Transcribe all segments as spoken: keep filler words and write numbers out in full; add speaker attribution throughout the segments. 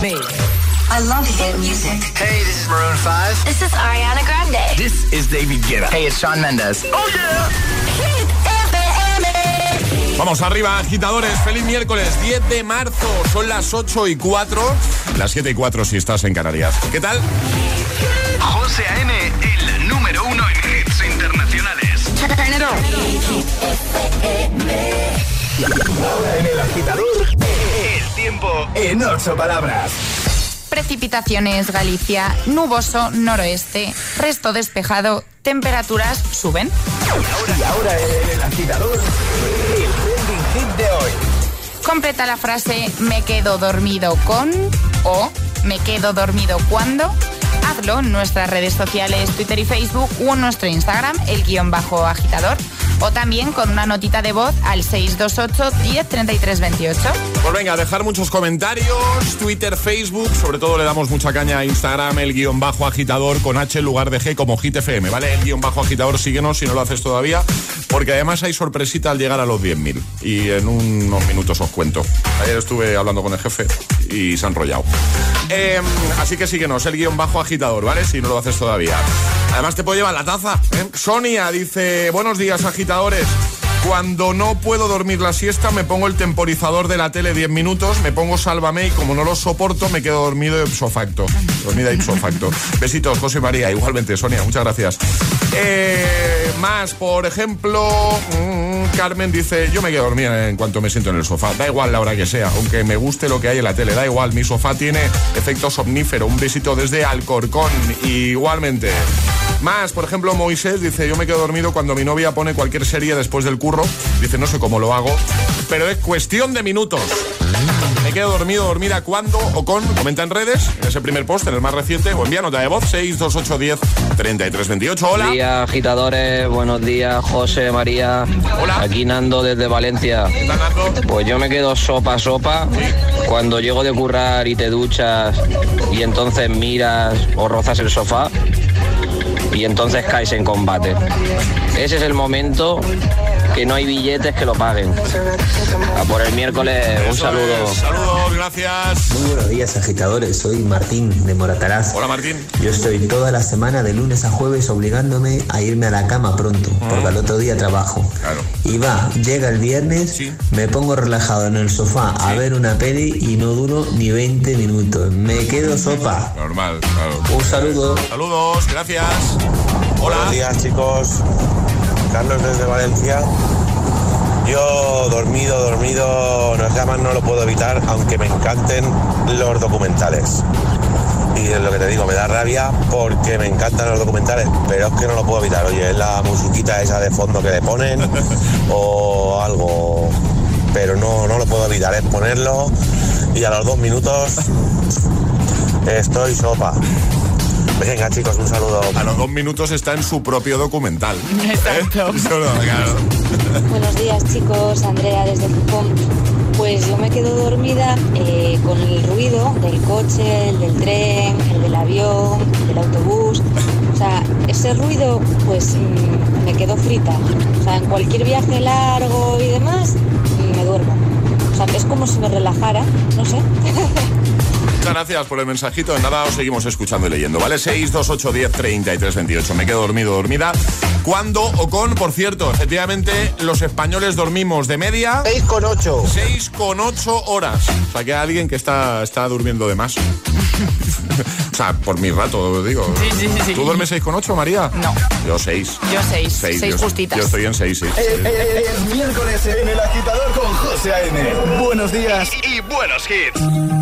Speaker 1: me.
Speaker 2: I love hit music.
Speaker 3: Hey, this is Maroon five.
Speaker 2: This is Ariana Grande.
Speaker 3: This is David Guetta.
Speaker 4: Hey, it's Shawn Mendes.
Speaker 3: Oh, yeah.
Speaker 2: Hit F M.
Speaker 5: Vamos arriba, agitadores. Feliz miércoles, diez de marzo. Son las ocho y cuatro. Las siete y cuatro si estás en Canarias. ¿Qué tal?
Speaker 6: José A M, el número uno en hits internacionales.
Speaker 1: Ahora en el agitador,
Speaker 6: El tiempo
Speaker 1: en ocho palabras.
Speaker 7: Precipitaciones, Galicia, nuboso, noroeste, resto despejado, temperaturas suben.
Speaker 1: Y ahora en el agitador, el trending hit de hoy.
Speaker 7: Completa la frase me quedo dormido con o me quedo dormido cuando. Hazlo en nuestras redes sociales, Twitter y Facebook, o en nuestro Instagram, el guión bajo agitador, o también con una notita de voz al seis dos ocho, diez, treinta y tres, veintiocho.
Speaker 5: Pues venga, dejar muchos comentarios, Twitter, Facebook, sobre todo le damos mucha caña a Instagram, el guión bajo agitador con H en lugar de G como Hit F M, ¿vale? El guión bajo agitador, síguenos si no lo haces todavía, porque además hay sorpresita al llegar a los diez mil y en unos minutos os cuento. Ayer estuve hablando con el jefe y se ha enrollado. Eh, así que síguenos, el guión bajo agitador, ¿vale? Si no lo haces todavía. Además te puedo llevar la taza, ¿eh? Sonia dice, buenos días agitadores. Cuando no puedo dormir la siesta me pongo el temporizador de la tele diez minutos, me pongo Sálvame y como no lo soporto me quedo dormido ipso facto. Dormida ipso facto. Besitos, José María. Igualmente, Sonia, muchas gracias. Eh, más, por ejemplo, mmm, Carmen dice, yo me quedo dormida en cuanto me siento en el sofá. Da igual la hora que sea, aunque me guste lo que hay en la tele, da igual. Mi sofá tiene efecto somnífero. Un besito desde Alcorcón. Igualmente. Más, por ejemplo, Moisés dice, yo me quedo dormido cuando mi novia pone cualquier serie después del curro. Dice, no sé cómo lo hago, pero es cuestión de minutos. Me quedo dormido, dormida cuando o con. Comenta en redes, en ese primer post, en el más reciente, o envía nota de voz seis dos ocho uno cero, treinta y tres veintiocho. Hola.
Speaker 8: Buenos días, agitadores. Buenos días, José, María.
Speaker 5: Hola.
Speaker 8: Aquí Nando desde Valencia.
Speaker 5: ¿Qué tal, Nando?
Speaker 8: Pues yo me quedo sopa, sopa.
Speaker 5: Sí.
Speaker 8: Cuando llego de currar y te duchas y entonces miras o rozas el sofá y entonces caes en combate. Ese es el momento que no hay billetes que lo paguen. A por el miércoles, un
Speaker 5: Eso
Speaker 8: saludo.
Speaker 5: es. Saludos, gracias.
Speaker 9: Muy buenos días, agitadores. Soy Martín de Morataraz.
Speaker 5: Hola, Martín.
Speaker 9: Yo estoy toda la semana de lunes a jueves obligándome a irme a la cama pronto, porque al otro día trabajo.
Speaker 5: Claro.
Speaker 9: Y va, llega el viernes,
Speaker 5: Sí.
Speaker 9: me pongo relajado en el sofá a ver una peli y no duro ni veinte minutos. Me quedo sopa.
Speaker 5: Normal, claro.
Speaker 9: Un saludo.
Speaker 5: Saludos, gracias. Hola.
Speaker 10: Buenos días, chicos. Carlos desde Valencia. Yo dormido, dormido, no, es que además no lo puedo evitar, aunque me encanten los documentales. Y es lo que te digo, me da rabia porque me encantan los documentales, pero es que no lo puedo evitar. Oye, es la musiquita esa de fondo que le ponen o algo, pero no, no lo puedo evitar, es ponerlo y a los dos minutos estoy sopa. Venga, chicos, un saludo.
Speaker 5: A los dos minutos está en su propio documental.
Speaker 7: Exacto.
Speaker 5: ¿Eh? Solo, claro.
Speaker 11: Buenos días, chicos. Andrea desde Pucón. Pues yo me quedo dormida eh, con el ruido del coche, el del tren, el del avión, el del autobús. O sea, ese ruido, pues mmm, me quedo frita. O sea, en cualquier viaje largo y demás, me duermo. O sea, es como si me relajara, no sé.
Speaker 5: Muchas gracias por el mensajito. En nada os seguimos escuchando y leyendo, ¿vale? seis dos ocho uno cero, treinta y tres veintiocho. Me quedo dormido, dormida. ¿Cuándo o con? Por cierto, efectivamente, los españoles dormimos de media
Speaker 10: seis con ocho.
Speaker 5: seis con ocho horas. O sea, que hay alguien que está, está durmiendo de más. O sea, por mi rato, digo.
Speaker 7: Sí, sí, sí, sí.
Speaker 5: ¿Tú duermes seis con ocho, María?
Speaker 7: No.
Speaker 5: Yo seis.
Speaker 7: Yo seis. Seis,
Speaker 5: yo,
Speaker 7: justitas.
Speaker 5: Yo estoy en seis, sí.
Speaker 1: Es, es, es miércoles en el agitador con José A M. Buenos días.
Speaker 6: y, y buenos hits.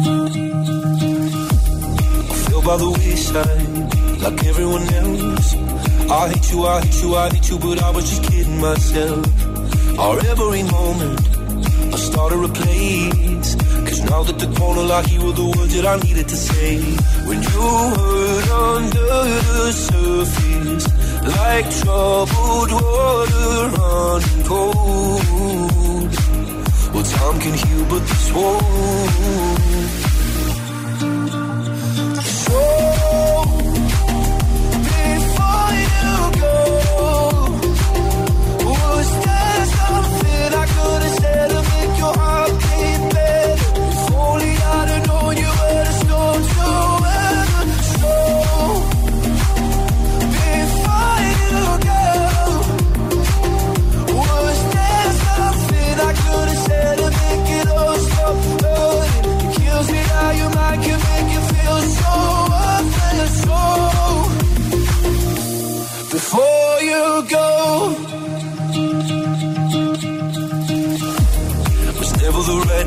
Speaker 12: By the wayside, like everyone else. I hate you, I hate you, I hate you, but I was just kidding myself. Our every moment, I started a place. Cause now that the corner like you were the words that I needed to say. When you hurt under the surface, like troubled water running cold. Well, time can heal, but this won't. So, before you go, was there something I could have said to make your heart beat better? If only I'd have known you were the storm.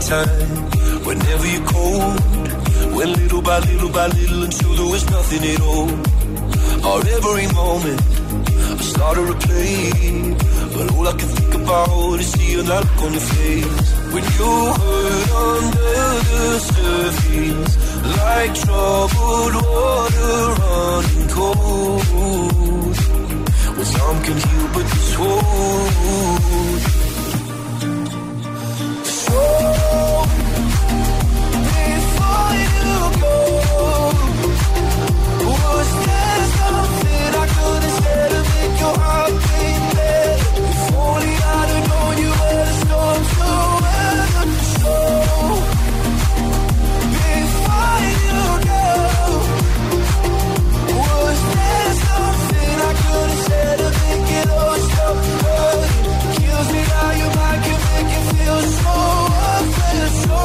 Speaker 12: time. Whenever you're cold, went little by little by little until there was nothing at all. Or every moment I started to play, but all I can think about is seeing that look on your face. When you hurt under the surface, like troubled water running cold. When some can heal but this won't. So before you go, was there something I could have said to make your heart beat better? If only I'd have known you were the storm to weather. So before you go, was there something I could have said to make it all stop hurting? Kills me how your mind can make you feel so worthless. So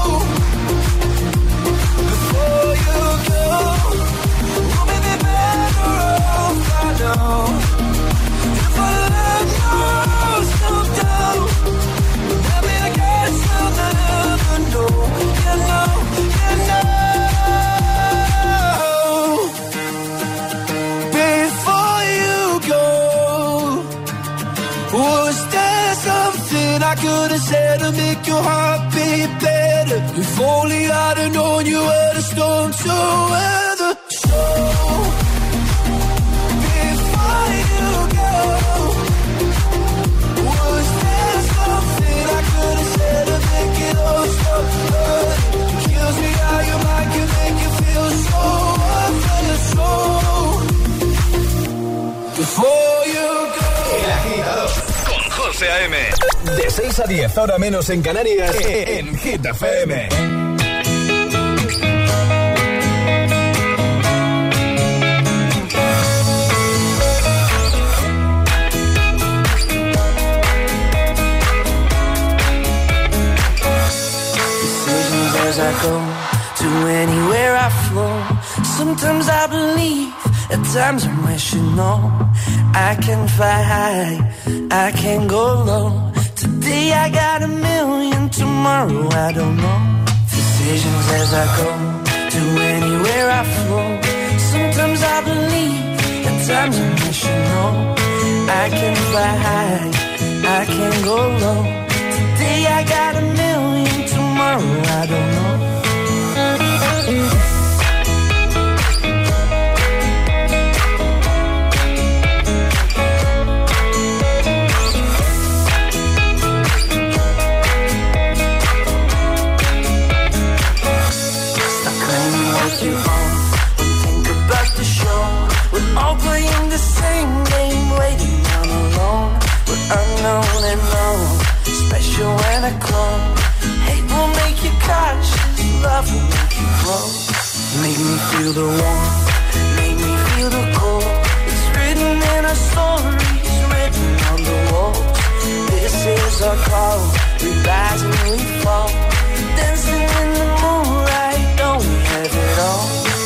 Speaker 12: before you go, we'll make it better off, I know. If I let yourself down, maybe I guess I'll never know. You know, you know. Before you go, was there something I could have said to make your heart beat better? If only I'd have known you were the storm to weather. So before you go, was there something I could have said to make it all stop hurting? It kills me how your mind can make you feel so worthless. So before you go.
Speaker 1: El Agitador
Speaker 6: con José A M.
Speaker 1: De seis a diez, hora menos en Canarias, en Hit F M.
Speaker 12: Decisions as I go, to anywhere I flow. Sometimes I believe, at times I'm wishing no. I can fly high, I can go low. Today I got a million, tomorrow I don't know. Decisions as I go, to anywhere I flow. Sometimes I believe, at times I'm wishing no. I can fly high, I can go low. Today I got a million, tomorrow I don't know. You on, don't think about the show. We're all playing the same game, waiting on alone. We're unknown and known, special and a clone. Hate will make you cautious, love will make you grow. Make me feel the warmth, make me feel the cold. It's written in our stories, written on the walls. This is our call, we rise and we fall. Dancing in the moonlight, don't we have it all?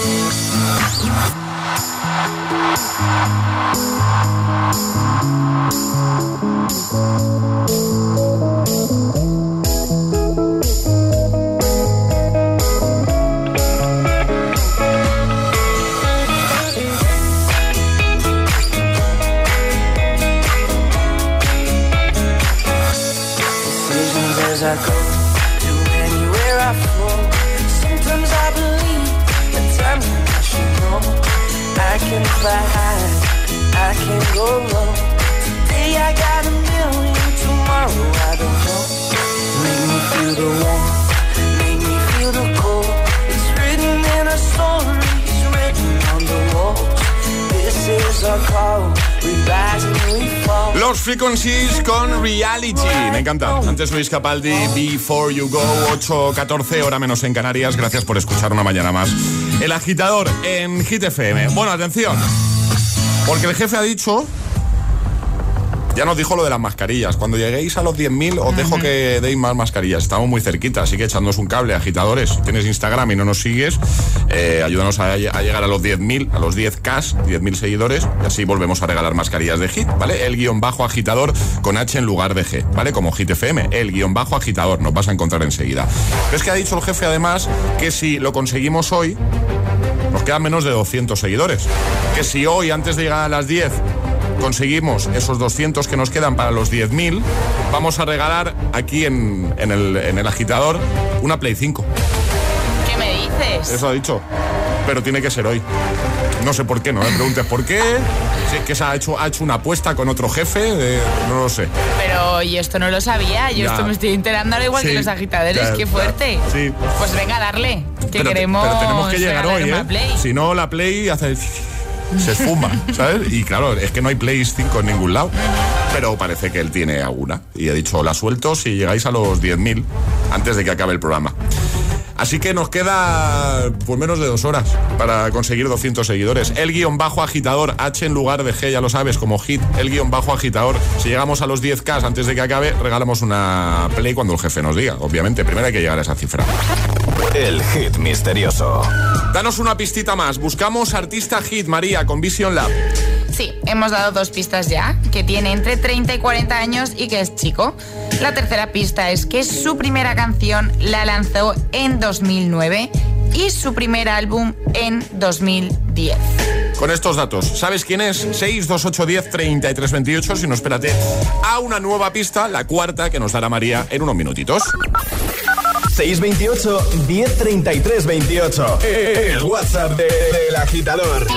Speaker 12: Decisions as I go, to anywhere I flow. Sometimes I believe, at times I wish you know. I can fly high, I can go low. Today I got a million, tomorrow I don't know. Make me feel the warmth, make me feel the cold. It's written in our stories, written on the walls. This is our call, we rise and we fall.
Speaker 5: Los Frequencies con Reality. Me encanta. Antes Luis Capaldi, Before You Go, ocho catorce, hora menos en Canarias. Gracias por escuchar una mañana más. El Agitador en Hit F M. Bueno, atención, porque el jefe ha dicho Ya nos dijo lo de las mascarillas. Cuando lleguéis a los diez mil os uh-huh. dejo que deis más mascarillas. Estamos muy cerquita, así que echándonos un cable, agitadores. Si tienes Instagram y no nos sigues, eh, ayúdanos a, a llegar a los diez mil, a los diez K, diez mil seguidores, y así volvemos a regalar mascarillas de Hit, ¿vale? El guión bajo agitador con H en lugar de G, ¿vale? Como Hit F M, el guión bajo agitador, nos vas a encontrar enseguida. Pero es que ha dicho el jefe además que si lo conseguimos hoy, nos quedan menos de doscientos seguidores. Que si hoy, antes de llegar a las diez, conseguimos esos doscientos que nos quedan para los diez mil, vamos a regalar aquí en, en, el, en el agitador una Play cinco.
Speaker 7: ¿Qué me dices?
Speaker 5: Eso ha dicho. Pero tiene que ser hoy. No sé por qué, no me preguntes por qué. Si es que se ha hecho, ha hecho una apuesta con otro jefe, de, no lo sé.
Speaker 7: Pero yo esto no lo sabía, yo ya. esto me estoy enterando ahora igual sí, que los agitadores, ya, qué fuerte.
Speaker 5: Ya, sí.
Speaker 7: Pues venga, darle, que
Speaker 5: pero,
Speaker 7: queremos
Speaker 5: pero tenemos que llegar hoy, ¿eh?
Speaker 7: Play.
Speaker 5: Si no, la Play hace... se esfuma, ¿sabes? Y claro, es que no hay Play cinco en ningún lado. Pero parece que él tiene alguna. Y he dicho, la suelto si llegáis a los diez mil antes de que acabe el programa. Así que nos queda pues menos de dos horas para conseguir doscientos seguidores. El guión bajo agitador, H en lugar de G, ya lo sabes, como Hit, el guión bajo agitador. Si llegamos a los diez K antes de que acabe, regalamos una Play cuando el jefe nos diga. Obviamente, primero hay que llegar a esa cifra.
Speaker 1: El hit misterioso.
Speaker 5: Danos una pistita más. Buscamos artista hit, María, con Vision Lab.
Speaker 7: Sí, hemos dado dos pistas ya, que tiene entre treinta y cuarenta años y que es chico. La tercera pista es que su primera canción la lanzó en dos mil nueve y su primer álbum en dos mil diez.
Speaker 5: Con estos datos, ¿sabes quién es? seis dos ocho uno cero treinta y tres veintiocho. Si no, espérate a una nueva pista, la cuarta, que nos dará María en unos minutitos.
Speaker 1: seis veintiocho, diez treinta y tres veintiocho. El WhatsApp de, de El Agitador.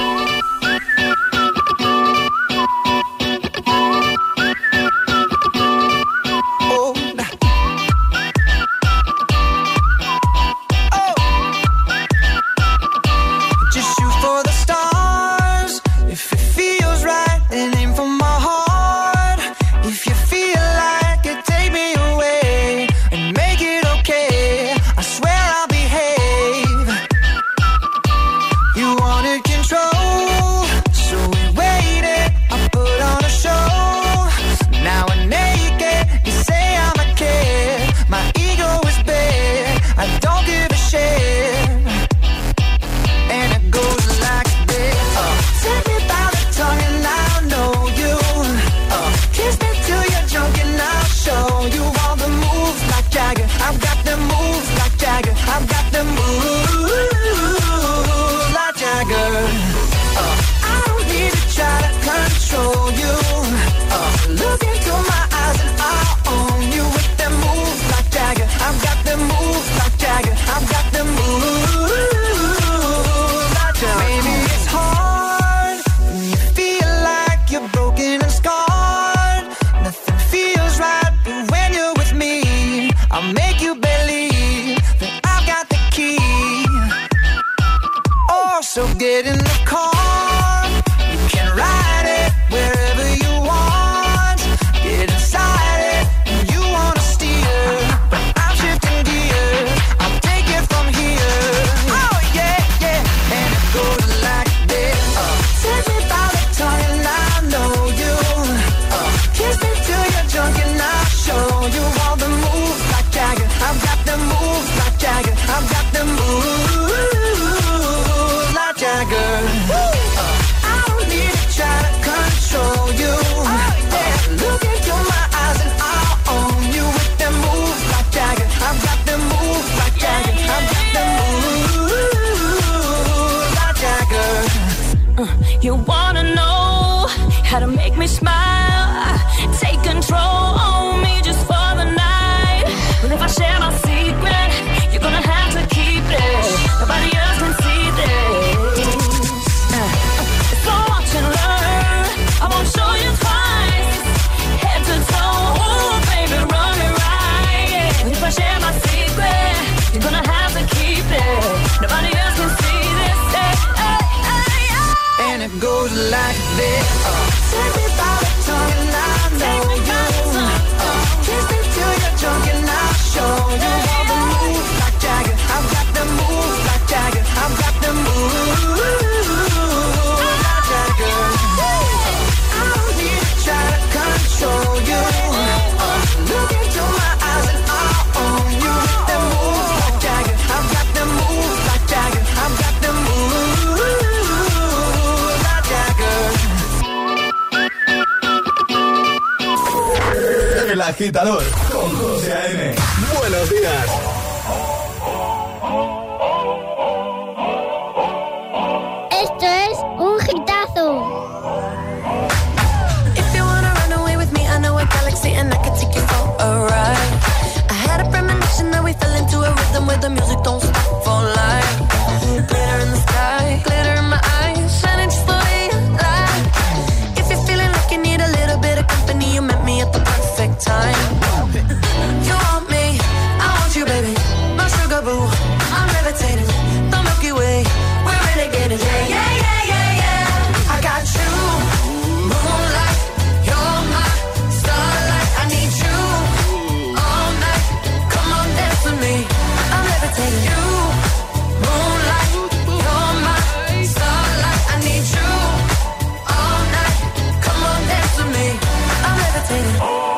Speaker 4: You wanna know how to make me smile, take control on me just for the night. Well, if I share my secret, you're gonna have to keep it. Nobody else can see this. Uh, so watch and learn. I won't show you twice. Head to toe, ooh, baby, run it right. Yeah. Well, if I share my secret, you're gonna have to keep it. Nobody else can see this. Hey, hey, hey, hey.
Speaker 13: And it goes like this. Uh, take me by the tongue and I know you. Uh, kiss me till you're drunk and I'll show you all the moves like Jagger. I've got the moves like Jagger. I've got the moves like Jagger. Uh, I don't need to try to control
Speaker 1: agitador con José A M. Buenos días.
Speaker 14: Esto es un hitazo.
Speaker 13: If you wanna run away with me, I know a galaxy and I can take you for a ride. I had a premonition that we fell into a rhythm where the music don't stop for life. Glitter in the sky, glitter in my eyes, shining just the way you like. If you're feeling like you need a little bit of company, you met me at the perfect time. You want me, I want you, baby. My sugar boo, I'm levitating. The Milky Way, we're renegading. Yeah, yeah, yeah, yeah, yeah. I got you, moonlight. You're my starlight. I need you all night. Come on, dance with me. I'm levitating. You, moonlight. You're my starlight. I need you all night. Come on, dance with me. I'm levitating.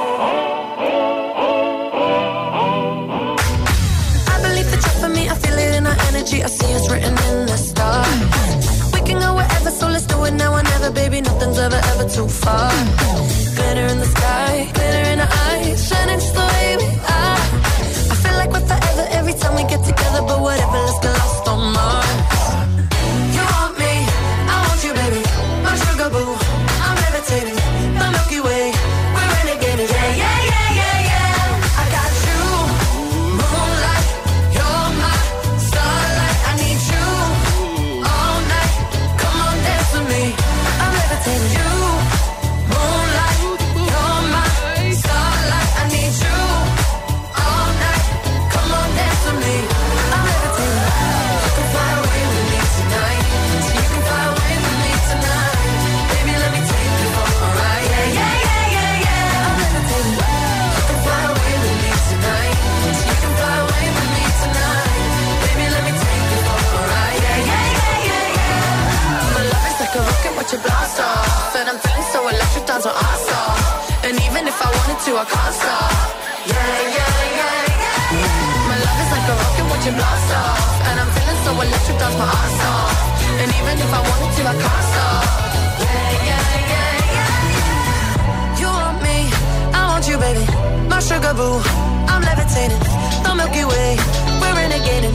Speaker 13: I see it's written in the stars. We can go wherever, so let's do it now or never, baby. Nothing's ever, ever too far. Glitter in the sky, glitter in our eyes, shining just the way we are. I feel like we're forever every time we get together, but whatever, let's get lost on Mars. You want me, I want you, baby. My sugar boo, I'm levitating. The Milky Way, we're renegading. Yeah, yeah, yeah, yeah, yeah. I got you, moonlight. You're my starlight. I need you all night. Come on, dance with me. I'm levitating. You, moonlight. You're my starlight. I need you all night. Come on, dance with me. I'm levitating. You can fly away with me tonight. You can fly away with me tonight. Baby, let me take you for a ride. Yeah, yeah, yeah, yeah, yeah. I'm levitating. You can fly away with me tonight. You can fly away with me tonight. Baby, let me take you for a ride. Yeah, yeah, yeah, yeah, yeah. My love is like a rocket, watch it blast off. And I'm feeling so electric, dance on our stop. And even if I wanted to, I can't stop. Yeah, yeah, yeah, yeah. My love is like a rocket, watch it blast off. And I'm feeling so electric, dance my ass off. And even if I wanted to, I can't stop. Yeah, yeah, yeah, yeah. You want me, I want you, baby. My sugar boo, I'm levitating. The Milky Way, we're renegading.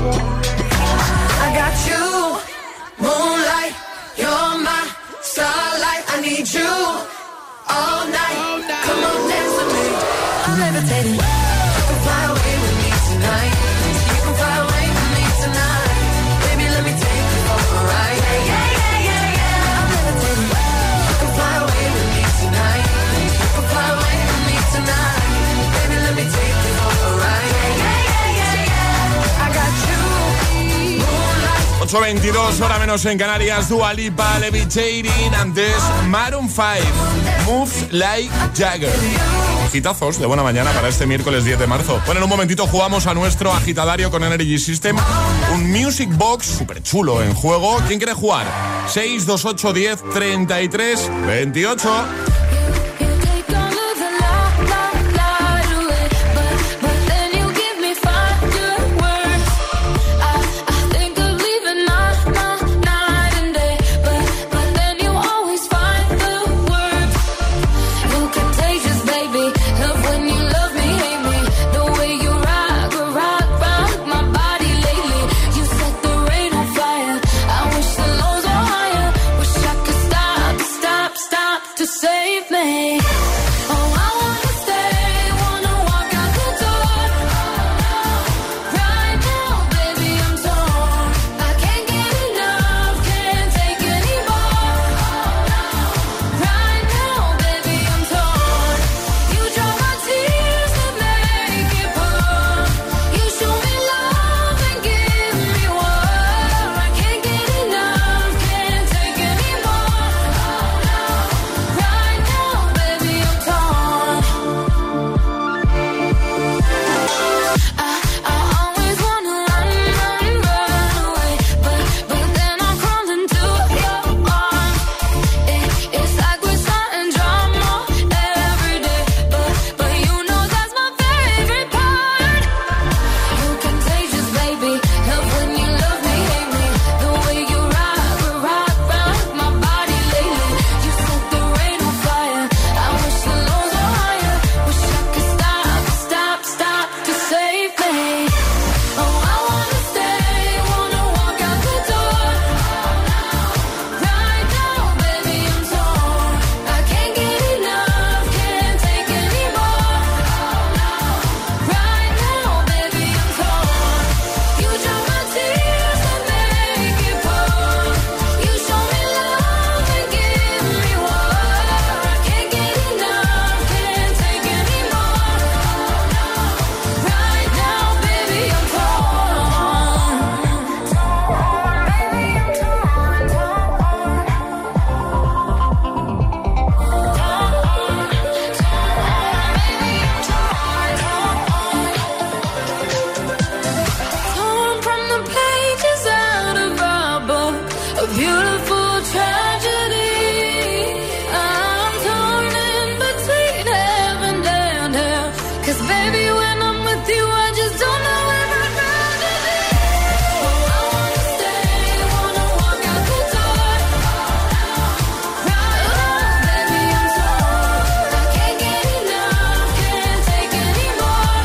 Speaker 13: I got you, moonlight. You're my starlight. I need you all night. Come on, dance with me. I'm levitating. You can fly away with me tonight. You can fly away with me tonight. Baby, let me take you for a ride. Yeah, yeah, yeah, yeah, yeah. I'm levitating. You can fly away with me tonight. You can fly away with me tonight. Baby, let me take you for a ride. Yeah, yeah, yeah, yeah, yeah. I got you, moonlight.
Speaker 5: ocho veintidós, hora menos en Canarias. Dua Lipa, Levitating. Antes, Maroon cinco, Moves Like Jagger. Hitazos de buena mañana para este miércoles diez de marzo. Bueno, en un momentito jugamos a nuestro agitadario con Energy System. Un Music Box súper chulo en juego. ¿Quién quiere jugar? seis dos ocho diez treinta y tres veintiocho.
Speaker 4: Save beautiful tragedy. I'm torn in between heaven and hell. 'Cause baby, when I'm with you, I just don't know where I'd rather be. Oh, I wanna stay, wanna walk out the door. Right now, baby, I'm torn. I can't get enough, can't take anymore.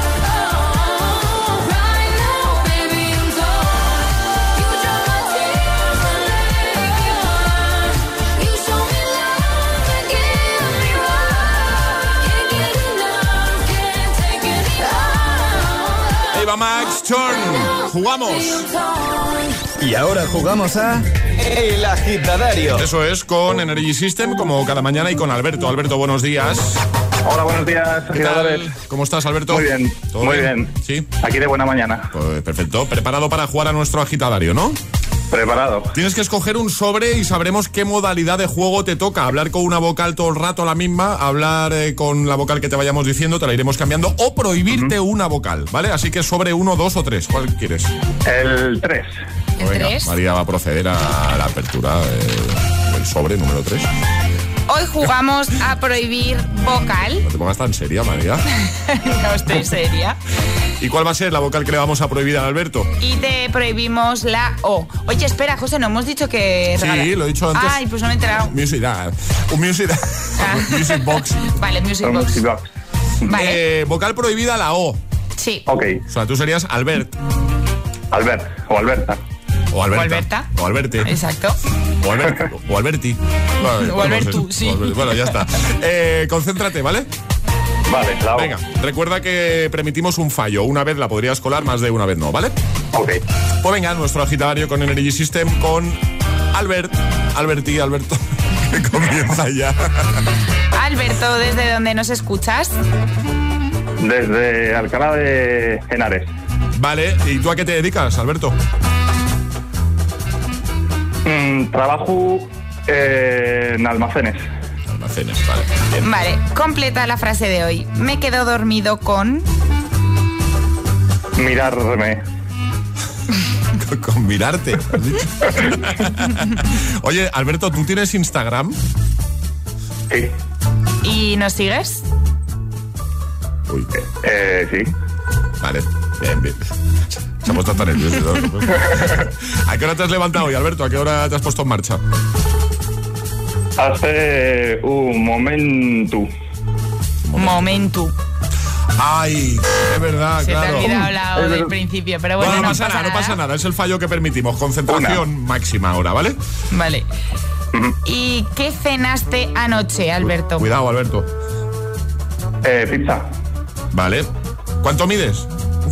Speaker 4: Oh, right now, baby, I'm torn. You dry my tears and make me warm. You show me love and give me more. Can't get enough, can't take anymore.
Speaker 5: Eva Max, Turn. Jugamos.
Speaker 1: Y ahora jugamos a El Agitadario.
Speaker 5: Eso es, con Energy System, como cada mañana, y con Alberto. Alberto, buenos días.
Speaker 15: Hola, buenos días,
Speaker 5: ¿Qué tal?
Speaker 15: agitadores.
Speaker 5: ¿Cómo estás, Alberto?
Speaker 15: Muy bien,
Speaker 5: ¿Todo
Speaker 15: muy bien?
Speaker 5: Sí.
Speaker 15: Aquí de buena mañana.
Speaker 5: Pues perfecto. Preparado para jugar a nuestro agitadario, ¿no?
Speaker 15: Preparado.
Speaker 5: Tienes que escoger un sobre y sabremos qué modalidad de juego te toca. Hablar con una vocal todo el rato la misma, hablar eh, con la vocal que te vayamos diciendo, te la iremos cambiando, o prohibirte uh-huh. una vocal, ¿vale? Así que sobre uno, dos o tres. ¿Cuál quieres?
Speaker 15: El tres.
Speaker 7: ¿El
Speaker 5: Venga,
Speaker 7: tres?
Speaker 5: María va a proceder a la apertura eh, del sobre número tres.
Speaker 7: Hoy jugamos a prohibir vocal.
Speaker 5: No te pongas tan seria, María.
Speaker 7: No estoy seria.
Speaker 5: ¿Y cuál va a ser la vocal que le vamos a prohibir a Alberto?
Speaker 7: Y te prohibimos la O. Oye, espera, José, no hemos dicho que...
Speaker 5: Sí,
Speaker 7: regala...
Speaker 5: lo he dicho antes.
Speaker 7: Ay, pues no me he enterado.
Speaker 5: Music, ah, un music,
Speaker 7: Ah.
Speaker 5: music box.
Speaker 7: Vale, music box.
Speaker 15: Music box.
Speaker 7: Vale.
Speaker 5: Eh, vocal prohibida la O.
Speaker 7: Sí.
Speaker 15: Ok.
Speaker 5: O sea, tú serías Albert.
Speaker 15: Albert o Alberta.
Speaker 5: O Alberta.
Speaker 7: O Alberta.
Speaker 5: O Alberte.
Speaker 7: Exacto.
Speaker 5: O, Albert, o Alberti. Vale,
Speaker 7: O Albertu,
Speaker 5: no sé.
Speaker 7: sí.
Speaker 5: O Albert- Bueno, ya está. Eh, concéntrate, ¿vale?
Speaker 15: Vale, la O.
Speaker 5: Venga, recuerda que permitimos un fallo. Una vez la podrías colar, más de una vez no, ¿vale?
Speaker 15: Ok.
Speaker 5: Pues venga, nuestro agitadario con Energy System con Albert. Alberti, Alberto. Que comienza ya.
Speaker 7: Alberto, ¿desde dónde nos escuchas?
Speaker 15: Desde Alcalá de Henares.
Speaker 5: Vale, ¿y tú a qué te dedicas, Alberto?
Speaker 15: Mm, trabajo eh, en almacenes.
Speaker 5: Almacenes, vale. Bien.
Speaker 7: Vale, completa la frase de hoy. Me quedo dormido con...
Speaker 15: Mirarme.
Speaker 5: Con, con mirarte. ¿Has dicho? Oye, Alberto, ¿tú tienes Instagram?
Speaker 15: Sí.
Speaker 7: ¿Y nos sigues?
Speaker 5: Uy,
Speaker 15: Eh, sí.
Speaker 5: vale, bien, bien. Se ha puesto tan nervioso. ¿No? ¿A qué hora te has levantado hoy, Alberto? ¿A qué hora te has puesto en marcha?
Speaker 15: Hace un momento.
Speaker 7: Momento.
Speaker 5: Ay, es verdad,
Speaker 7: Se
Speaker 5: claro.
Speaker 7: te ha olvidado la O del principio, pero bueno,
Speaker 5: Bueno, no,
Speaker 7: no
Speaker 5: pasa nada, no pasa nada. Es el fallo que permitimos. Concentración máxima ahora, ¿vale?
Speaker 7: Vale. ¿Y qué cenaste anoche, Alberto?
Speaker 5: Cuidado, Alberto.
Speaker 15: Eh, pizza.
Speaker 5: Vale. ¿Cuánto mides?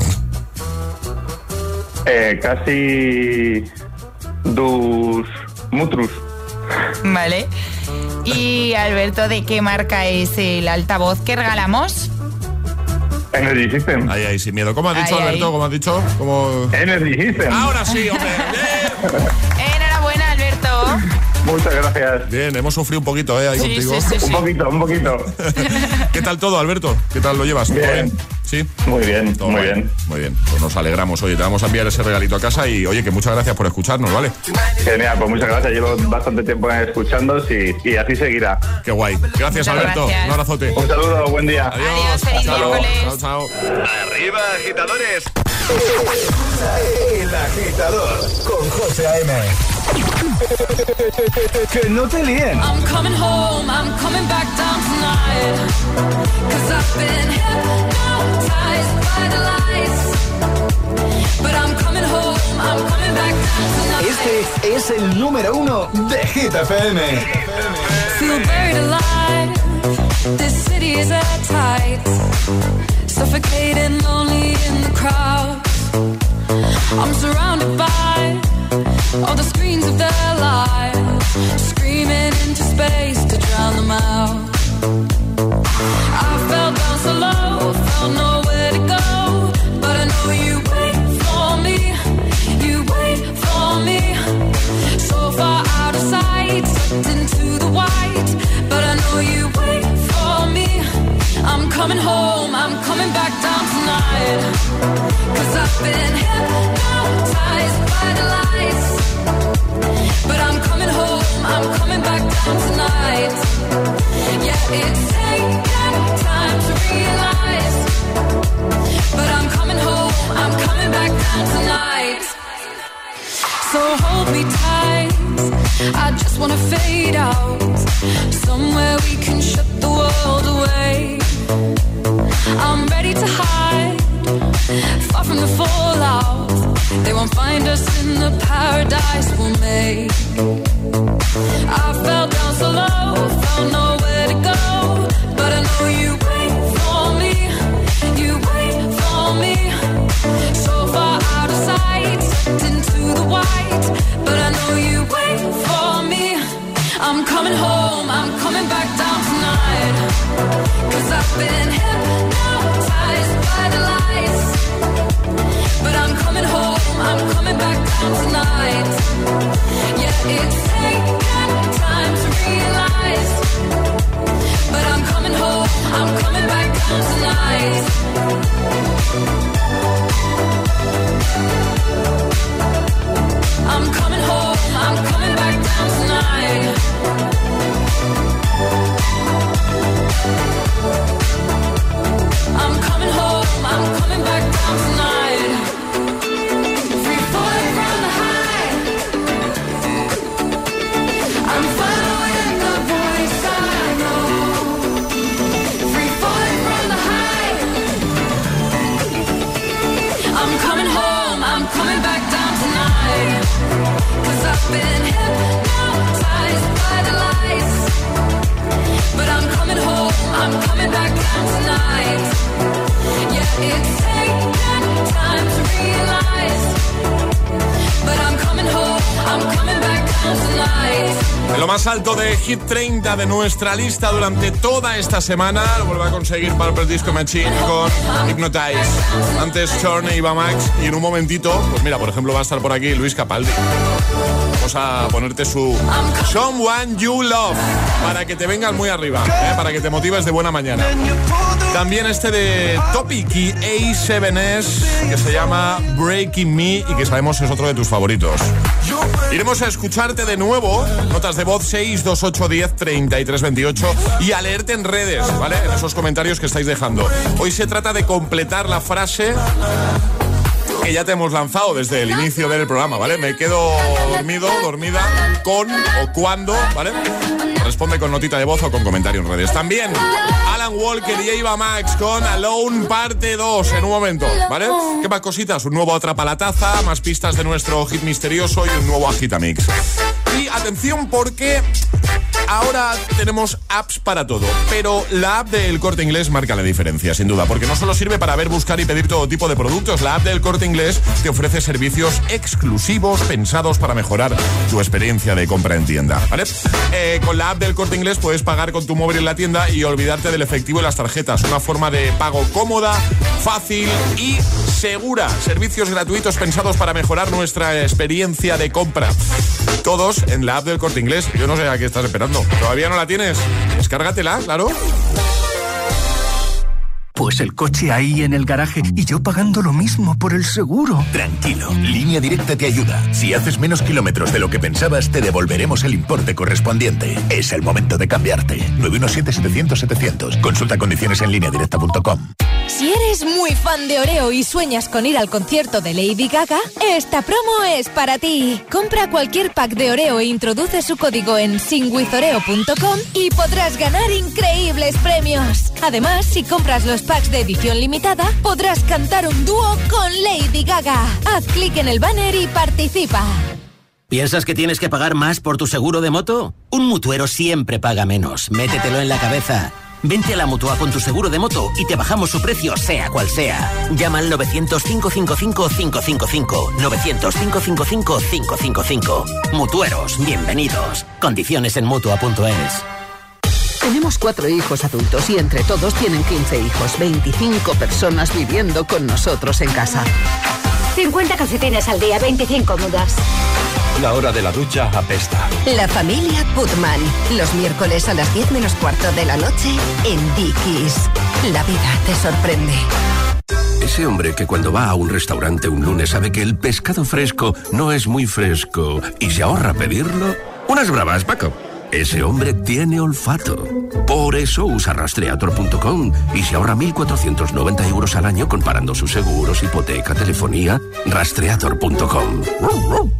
Speaker 15: Eh, casi dos mutrus.
Speaker 7: Vale. Y Alberto, ¿de qué marca es el altavoz que regalamos?
Speaker 15: Energy System.
Speaker 5: Ahí, ahí, sin miedo. ¿Cómo has dicho,
Speaker 7: Ahí,
Speaker 5: Alberto?
Speaker 7: ahí.
Speaker 5: ¿Cómo has dicho? ¿Cómo...
Speaker 15: Energy System.
Speaker 5: Ahora sí, hombre. Bien.
Speaker 7: Enhorabuena, Alberto.
Speaker 15: Muchas gracias.
Speaker 5: Bien, hemos sufrido un poquito, ¿eh? Ahí
Speaker 7: Sí,
Speaker 5: contigo.
Speaker 7: sí, sí, sí.
Speaker 15: Un poquito, un poquito.
Speaker 5: ¿Qué tal todo, Alberto? ¿Qué tal lo llevas? ¿Todo
Speaker 15: Bien.
Speaker 5: ¿Sí?
Speaker 15: Muy bien,
Speaker 5: Todo
Speaker 15: muy
Speaker 5: guay.
Speaker 15: bien.
Speaker 5: Muy bien. Pues nos alegramos. Oye, te vamos a enviar ese regalito a casa y, oye, que muchas gracias por escucharnos, ¿vale?
Speaker 15: Genial, pues muchas gracias. Llevo bastante tiempo escuchando y, y así seguirá.
Speaker 5: Qué guay. Gracias,
Speaker 7: Muchas
Speaker 5: Alberto.
Speaker 7: gracias.
Speaker 5: Un abrazote.
Speaker 15: Un saludo, buen día.
Speaker 5: Adiós.
Speaker 7: Adiós, feliz
Speaker 5: Chao.
Speaker 7: miércoles.
Speaker 5: Chao, chao.
Speaker 6: Arriba, agitadores.
Speaker 1: El Agitador con José A M. Que no te líen.
Speaker 4: I'm coming home, I'm coming back down tonight. 'Cause I've been hypnotized by the lights. But I'm coming home, I'm coming back down tonight.
Speaker 1: Este es el número uno de Hit F M.
Speaker 4: Feel buried alive. This city is at tight. Suffocating, lonely in the crowd. I'm surrounded by all the screens of their lives, screaming into space to drown them out. I fell down so low, felt nowhere to go, but I know you wait for me, you wait for me. So far out of sight, sucked into the white, but I know you wait for me. I'm coming home, I'm coming back down tonight. 'Cause I've been hypnotized by the lights, but I'm coming hold me tight. I just wanna fade out. Somewhere we can shut the world away. I'm ready to hide, far from the fallout. They won't find us in the paradise we'll make. I fell down so low, found nowhere to go. But I know you wait for me, you wait for me. So far out of sight, into the white. But I know you wait for me. I'm coming home, I'm coming back down tonight. Cause I've been hypnotized by the lights. But I'm coming home, I'm coming back down tonight. Yeah, it's taken time to realize. But I'm coming home, I'm coming back down tonight. I'm coming home, I'm coming back down tonight. I'm coming home, I'm coming back down tonight. Free falling from the high. I'm following the voice I know. Free falling from the high. I'm coming home, I'm coming back down tonight. Cause I've been hypnotized by the lights. But I'm coming home, I'm coming back down tonight. Yeah, it's taken time to realize. But I'm coming home, I'm coming back down tonight.
Speaker 5: En lo más alto de Hit treinta de nuestra lista durante toda esta semana lo vuelve a conseguir Purple Disco Machine con Hypnotize. Antes Chorn e Iba Max. Y en un momentito, pues mira, por ejemplo va a estar por aquí Luis Capaldi. Vamos a ponerte su Someone You Love para que te vengas muy arriba, ¿eh? Para que te motives de buena mañana. También este de Topic y A siete S que se llama Breaking Me y que sabemos es otro de tus favoritos. Iremos a escucharte de nuevo, notas de voz seis dos ocho diez treinta y tres veintiocho y a leerte en redes, ¿vale? En esos comentarios que estáis dejando. Hoy se trata de completar la frase que ya te hemos lanzado desde el inicio del programa, ¿vale? Me quedo dormido, dormida, con o cuando, ¿vale? Responde con notita de voz o con comentario en redes. También Alan Walker y Eva Max con Alone parte dos en un momento, ¿vale? ¿Qué más cositas? Un nuevo Atrapa la Taza, más pistas de nuestro hit misterioso y un nuevo Agitamix. Y atención porque ahora tenemos apps para todo, pero la app del Corte Inglés marca la diferencia, sin duda, porque no solo sirve para ver, buscar y pedir todo tipo de productos. La app del Corte Inglés te ofrece servicios exclusivos pensados para mejorar tu experiencia de compra en tienda, ¿vale? Eh, con la app del Corte Inglés puedes pagar con tu móvil en la tienda y olvidarte del efectivo y las tarjetas. Una forma de pago cómoda, fácil y segura. Servicios gratuitos pensados para mejorar nuestra experiencia de compra. Todos en la app del Corte Inglés. Yo no sé a qué estás esperando. ¿Todavía no la tienes? Descárgatela, claro.
Speaker 16: Pues el coche ahí en el garaje y yo pagando lo mismo por el seguro.
Speaker 17: Tranquilo, Línea Directa te ayuda. Si haces menos kilómetros de lo que pensabas, te devolveremos el importe correspondiente. Es el momento de cambiarte. nueve uno siete, setecientos, setecientos. Consulta condiciones en línea directa punto com.
Speaker 18: Si eres muy fan de Oreo y sueñas con ir al concierto de Lady Gaga, esta promo es para ti. Compra cualquier pack de Oreo e introduce su código en sing with oreo punto com y podrás ganar increíbles premios. Además, si compras los packs de edición limitada, podrás cantar un dúo con Lady Gaga. Haz clic en el banner y participa.
Speaker 19: ¿Piensas que tienes que pagar más por tu seguro de moto? Un mutuero siempre paga menos. Métetelo en la cabeza. Vente a la Mutua con tu seguro de moto y te bajamos su precio, sea cual sea. Llama al novecientos, cinco cinco cinco, cinco cinco cinco. novecientos, cinco cinco cinco, cinco cinco cinco. Mutueros, bienvenidos. Condiciones en mutua punto es.
Speaker 20: Tenemos cuatro hijos adultos y entre todos tienen quince hijos, veinticinco personas viviendo con nosotros en casa.
Speaker 21: cincuenta calcetines al día, veinticinco mudas.
Speaker 22: La hora de la ducha apesta.
Speaker 23: La familia Putman, los miércoles a las diez menos cuarto de la noche en Dickies. La vida te sorprende.
Speaker 22: Ese hombre que cuando va a un restaurante un lunes sabe que el pescado fresco no es muy fresco y se ahorra pedirlo. Unas bravas, Paco. Ese hombre tiene olfato. Por eso usa rastreator punto com y se ahorra mil cuatrocientos noventa euros al año comparando sus seguros, hipoteca, telefonía. rastreator punto com.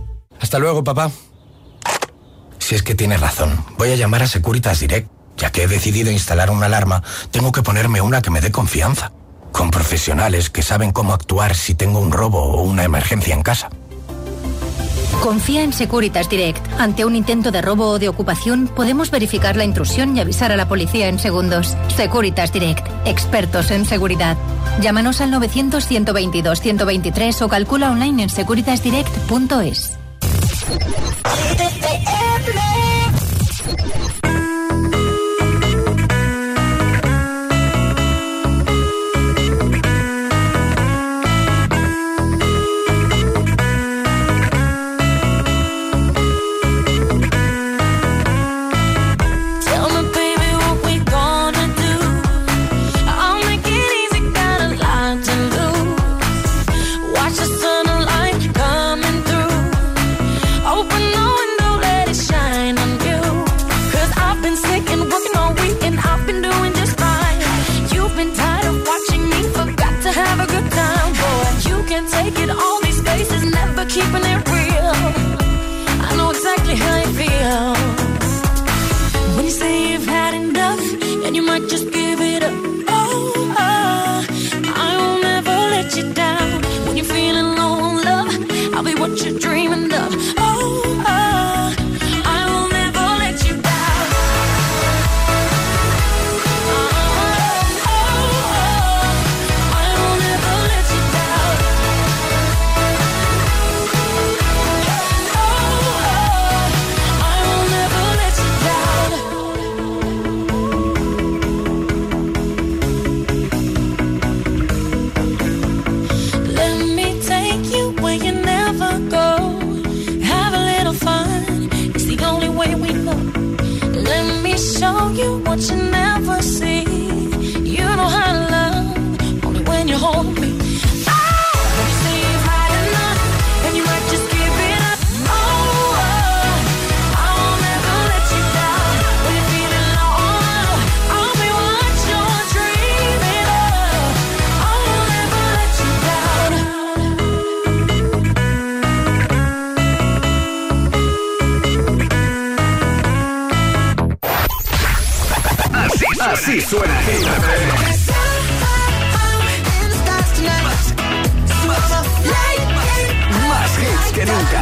Speaker 2: Hasta luego, papá. Si es que tienes razón, voy a llamar a Securitas Direct. Ya que he decidido instalar una alarma, tengo que ponerme una que me dé confianza, con profesionales que saben cómo actuar si tengo un robo o una emergencia en casa.
Speaker 3: Confía en Securitas Direct. Ante un intento de robo o de ocupación, podemos verificar la intrusión y avisar a la policía en segundos. Securitas Direct. Expertos en seguridad. Llámanos al novecientos, ciento veintidós, ciento veintitrés o calcula online en securitas direct punto es.
Speaker 4: Keeping it real, I know exactly how you feel. When you say you've had enough, and you might just give it up. Oh, uh, I will never let you down. When you're feeling low on love, I'll be what you're dreaming of. Oh, uh, I will never let you down. Oh, oh, oh, I will never let you down. Show you what you never see. You know how to love only when you hold me. Oh, when you say you've had enough, and you might just give it up. Oh, oh, I will never let you down. When you're feeling low, I'll be what you're dreaming of. I will never let you down.
Speaker 1: Así suena Hit F M. Más hits que nunca.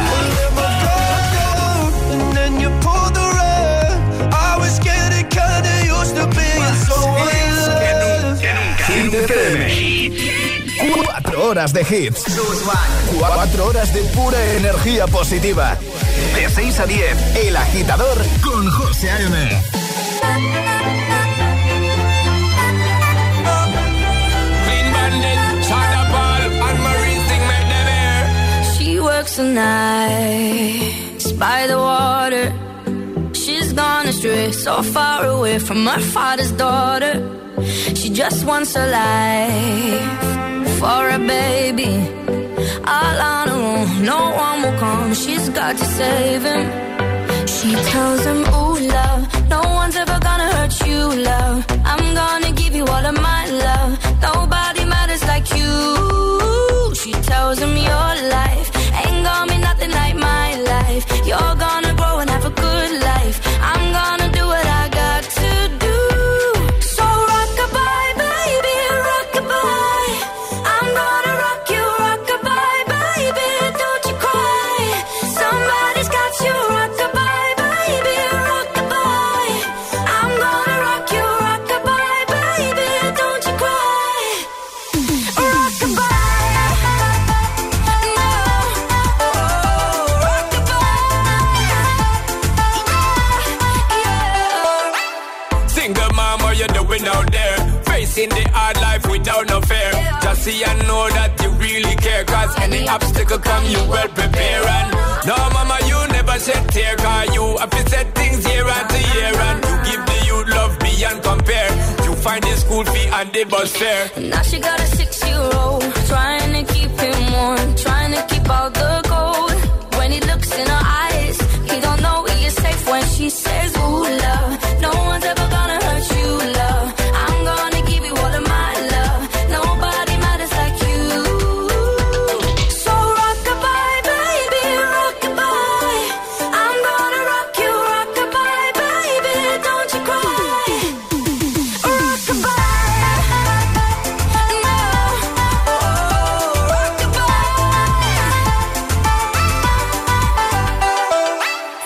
Speaker 1: Hit F M. Cuatro horas de hits. Cuatro horas de pura energía positiva. De seis a diez, El Agitador con José A M.
Speaker 4: She works the nights by the water. She's gone astray, so far away from her father's daughter. She just wants a life for a baby. All on her own, no one will come. She's got to save him. She tells him, ooh, love, no one's ever gonna hurt you, love. I'm gonna give you all of my love. Nobody matters like you. She tells him your life ain't gonna be nothing like my life. You're gonna grow and have a good life. I'm gonna do what I got to do. So rock-a-bye, baby, rock-a-bye. I'm gonna rock you, rock-a-bye, baby, don't you cry. Somebody's got you, rock-a-bye, baby, rock-a-bye. I'm gonna rock you, rock-a-bye, baby, don't you cry. Rock-a-bye.
Speaker 8: Out there, facing the hard life without no fear. Yeah. Just see and know that you really care. Cause any obstacle come, you well prepare. And no, mama, you never shed tear. Cause you have to set things year after year. And you give the youth love beyond compare. You find the school fee and the bus fare.
Speaker 4: Now she got a six-year-old, trying to keep him warm, trying to keep out the cold. When he looks in her eyes, he don't know he is safe when she says, ooh, love, no one's ever gonna hurt you, love. I'm gonna give you all of my love. Nobody matters like you. So rock-a-bye, baby, rock-a-bye.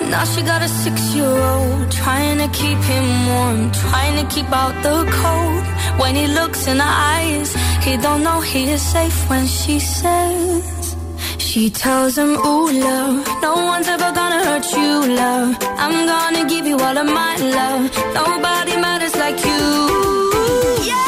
Speaker 4: Now she got a six-year-old, trying to keep him warm, trying to keep out the cold. When he looks in her eyes, he don't know he is safe when she says, she tells him, ooh, love, no one's ever gonna hurt you, love. I'm gonna give you all of my love. Nobody matters like you. Yeah.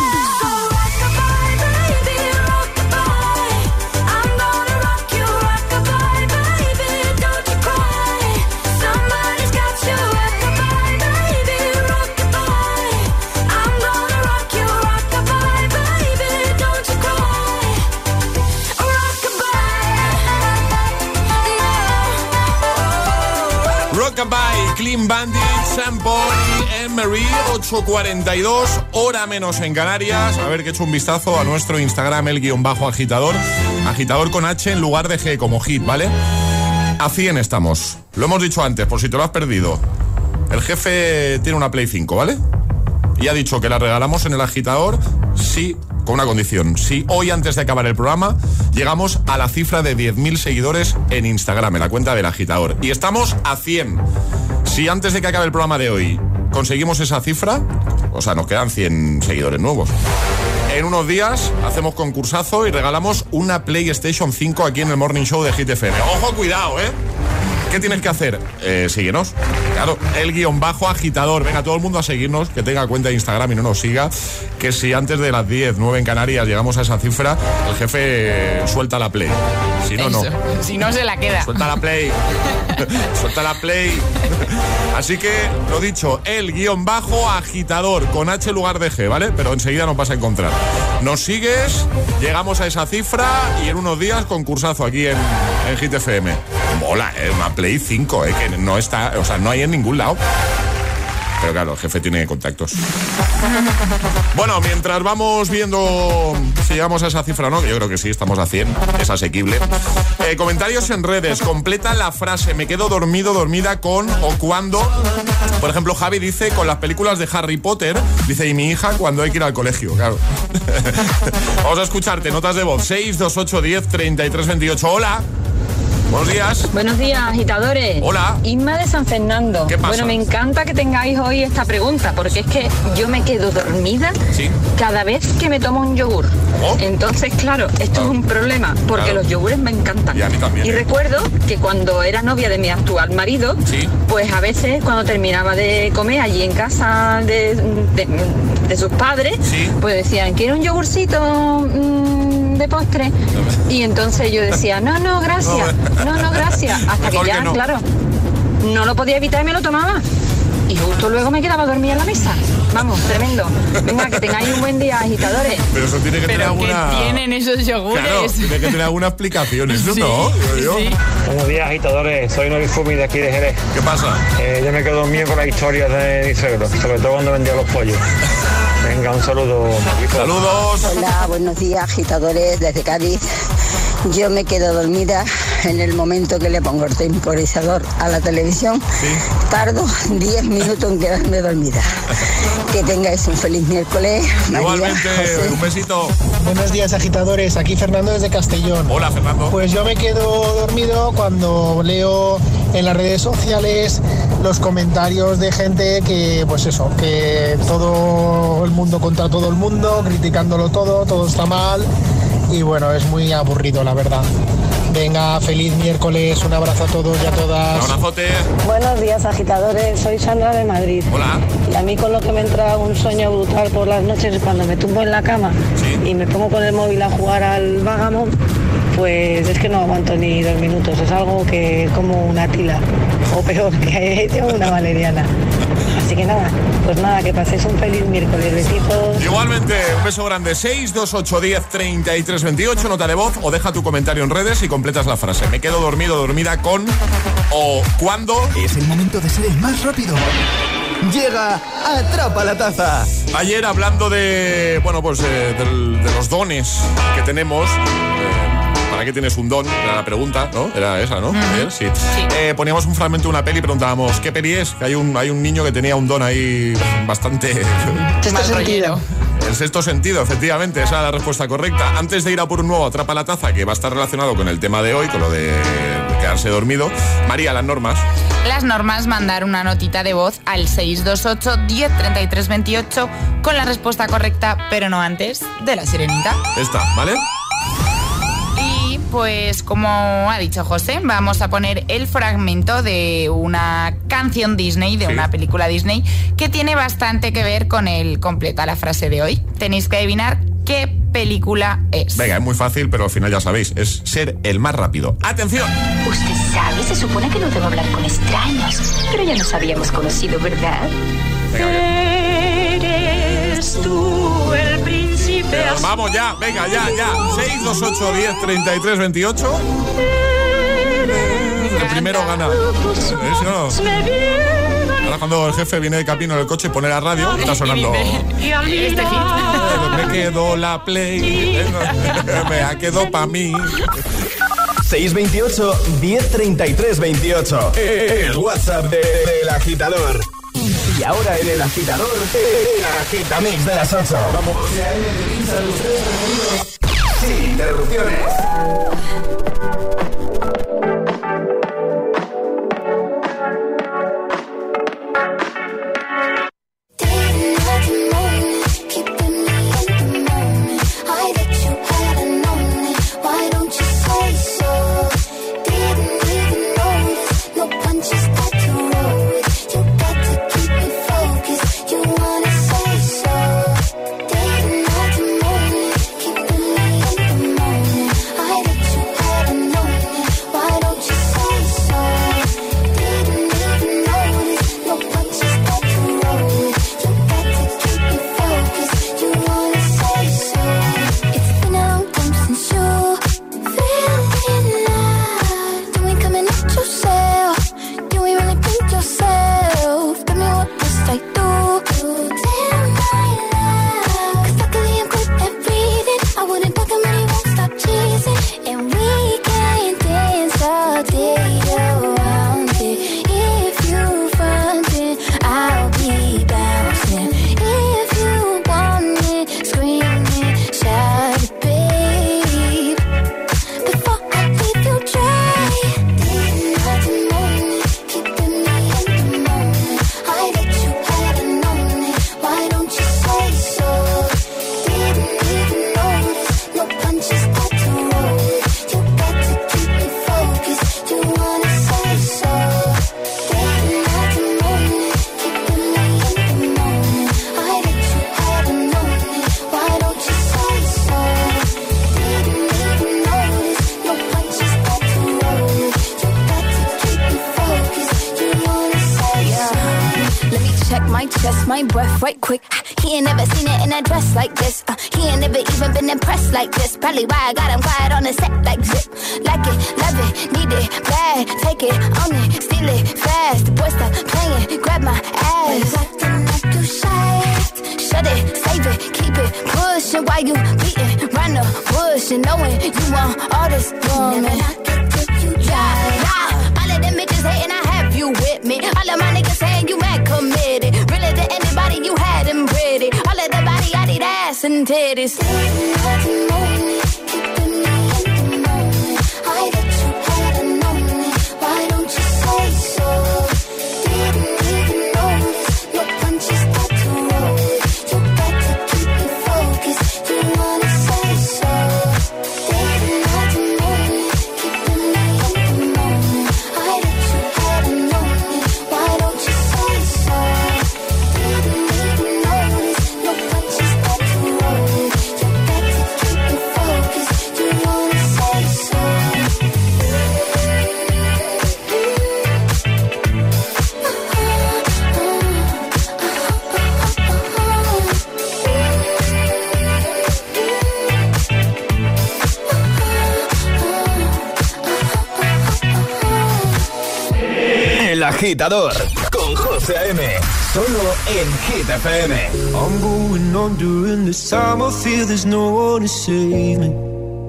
Speaker 5: Rockabye, Clean Bandit, Sam Paul y Anne-Marie. Ocho cuarenta y dos, hora menos en Canarias. A ver que he hecho un vistazo a nuestro Instagram, el guión bajo agitador. Agitador con H en lugar de G, como hit, ¿vale? A cien estamos. Lo hemos dicho antes, por si te lo has perdido. El jefe tiene una Play cinco, ¿vale? Y ha dicho que la regalamos en el agitador, sí, con una condición. Si hoy, antes de acabar el programa, llegamos a la cifra de diez mil seguidores en Instagram, en la cuenta del agitador. Y estamos a cien. Si antes de que acabe el programa de hoy conseguimos esa cifra, o sea, nos quedan cien seguidores nuevos. En unos días hacemos concursazo y regalamos una PlayStation cinco aquí en el Morning Show de Hit F M. ¡Ojo, cuidado, eh! ¿Qué tienes que hacer? Eh, síguenos. Claro, el guión bajo agitador. Venga, todo el mundo a seguirnos, que tenga cuenta de Instagram y no nos siga. Que si antes de las diez, nueve en Canarias llegamos a esa cifra, el jefe suelta la Play. Si no,
Speaker 7: Eso.
Speaker 5: no.
Speaker 7: Si no, se la queda.
Speaker 5: Suelta la Play. Suelta la Play. Así que, lo dicho, el guión bajo agitador con H en lugar de G, ¿vale? Pero enseguida nos vas a encontrar. Nos sigues, llegamos a esa cifra y en unos días concursazo aquí en, en Hit F M. Mola, es eh, una Play cinco, eh, que no está, o sea, no hay en ningún lado. Pero claro, el jefe tiene contactos. Bueno, mientras vamos viendo si llegamos a esa cifra o no, que yo creo que sí, estamos a cien, es asequible. Eh, comentarios en redes, completa la frase, me quedo dormido, dormida con o cuando. Por ejemplo, Javi dice, con las películas de Harry Potter, dice, y mi hija cuando hay que ir al colegio, claro. Vamos a escucharte, notas de voz, seis dos ocho diez treinta y tres veintiocho. Hola. Buenos días.
Speaker 9: Buenos días, agitadores.
Speaker 5: Hola.
Speaker 9: Inma de San Fernando.
Speaker 5: ¿Qué pasa?
Speaker 9: Bueno, me encanta que tengáis hoy esta pregunta, porque es que yo me quedo dormida
Speaker 5: ¿Sí?
Speaker 9: cada vez que me tomo un yogur.
Speaker 5: ¿Oh?
Speaker 9: Entonces, claro, esto
Speaker 5: claro.
Speaker 9: es un problema, porque
Speaker 5: claro.
Speaker 9: los yogures me encantan.
Speaker 5: Y a mí también.
Speaker 9: Y recuerdo que cuando era novia de mi actual marido,
Speaker 5: ¿Sí?
Speaker 9: pues a veces cuando terminaba de comer allí en casa de, de, de sus padres,
Speaker 5: ¿Sí?
Speaker 9: pues decían, ¿quiere un yogurcito mmm, de postre? Y entonces yo decía, no, no, gracias, no, no, gracias. Hasta
Speaker 5: Mejor
Speaker 9: que ya,
Speaker 5: que no.
Speaker 9: claro, no lo podía evitar y me lo tomaba. Y justo luego me quedaba dormida en la mesa. Vamos, tremendo. Venga, que tengáis un buen día, agitadores.
Speaker 5: Pero eso tiene que tener
Speaker 7: Pero ¿qué
Speaker 5: alguna...
Speaker 7: tienen esos yogures?
Speaker 5: Claro, tiene que tener alguna explicación. Eso
Speaker 7: Sí,
Speaker 5: no, digo yo.
Speaker 7: sí.
Speaker 10: Buenos días, agitadores. Soy Norifumi de aquí de Jerez.
Speaker 5: ¿Qué pasa?
Speaker 10: Eh, yo me quedo dormido con las historias de mi suegro, sobre todo cuando vendía los pollos. Venga, un saludo.
Speaker 5: Saludos.
Speaker 11: Hola, buenos días, agitadores desde Cádiz. Yo me quedo dormida en el momento que le pongo el temporizador a la televisión.
Speaker 5: ¿Sí?
Speaker 11: Tardo diez minutos en quedarme dormida. Que tengáis un feliz miércoles. María,
Speaker 5: Igualmente,
Speaker 11: José.
Speaker 5: un besito.
Speaker 24: Buenos días, agitadores. Aquí Fernando desde Castellón.
Speaker 5: Hola, Fernando.
Speaker 24: Pues yo me quedo dormido cuando leo en las redes sociales los comentarios de gente que, pues eso, que todo el mundo contra todo el mundo, criticándolo todo, todo está mal. Y bueno, es muy aburrido, la verdad. Venga, feliz miércoles, un abrazo a todos y a todas.
Speaker 5: Un abrazote.
Speaker 25: Buenos días, agitadores. Soy Sandra de Madrid.
Speaker 5: Hola.
Speaker 25: Y a mí con lo que me entra un sueño brutal por las noches es cuando me tumbo en la cama
Speaker 5: ¿Sí?
Speaker 25: y me pongo con el móvil a jugar al Vagamon, pues es que no aguanto ni dos minutos. Es algo que como una tila, o peor, que tengo una valeriana. Así que nada, pues nada, que paséis un feliz miércoles. Besitos.
Speaker 5: Igualmente, un beso grande. seis dos ocho diez treinta y tres veintiocho, nota de voz o deja tu comentario en redes y completas la frase. Me quedo dormido, dormida con o cuando.
Speaker 1: Es el momento de ser el más rápido. Llega Atrapa la Taza.
Speaker 5: Ayer, hablando de, bueno, pues eh, del- de los dones que tenemos. eh, ¿Para qué tienes un don? Era la pregunta, ¿no? Era esa, ¿no? Ayer, sí. Eh, poníamos un fragmento de una peli y preguntábamos, ¿qué peli es? Que hay un, hay un niño que tenía un don ahí bastante...
Speaker 25: Sexto sentido.
Speaker 5: El sexto sentido, efectivamente, esa es la respuesta correcta. Antes de ir a por un nuevo Atrapa la Taza, que va a estar relacionado con el tema de hoy, con lo de quedarse dormido. María, las normas.
Speaker 7: Las normas: mandar una notita de voz al seis dos ocho, diez, treinta y tres, veintiocho con la respuesta correcta, pero no antes de la sirenita.
Speaker 5: Está, ¿vale?
Speaker 7: Y pues, como ha dicho José, vamos a poner el fragmento de una canción Disney, de sí. una película Disney, que tiene bastante que ver con el completa la frase de hoy. Tenéis que adivinar qué película es.
Speaker 5: Venga, es muy fácil, pero al final ya sabéis, es ser el más rápido. ¡Atención!
Speaker 21: Usted sabe, se supone que no debo hablar con extraños, pero ya nos habíamos conocido, ¿verdad?
Speaker 4: Eres tú el príncipe.
Speaker 5: Pero vamos ya, venga, ya, ya. seis dos ocho, diez, treinta y tres, veintiocho. El primero gana. ¿Sí, no? Ahora cuando el jefe viene de camino en el coche, pone la radio, está sonando.
Speaker 7: Este hit.
Speaker 5: Me quedó la play. Me ha quedado pa' mí.
Speaker 1: seis veintiocho, diez, treinta y tres, veintiocho. El WhatsApp de, de El Agitador. Y ahora en El Agitador, el Agitamix de las ocho. Vamos. Sin interrupciones.
Speaker 6: my breath right quick. He ain't never seen it in a dress like this. Uh, he ain't never even been impressed like this. Probably why I got him quiet on the set like zip. Like it, love it, need it, bad. Take it, own it, steal it, fast. The boy stop playing, grab my ass. Acting like you shy. Shut it, save it, keep it pushing while you beating round the bush and knowing you want all this woman. Yeah, nah. All of them bitches hating, I have you with me. All of my niggas saying you mad committed. Really to anybody you had them pretty. All of the body, I need ass and titties.
Speaker 1: Agitador con José A M, solo en Hit F M.
Speaker 12: I'm going on during this time. I feel there's no one to save me.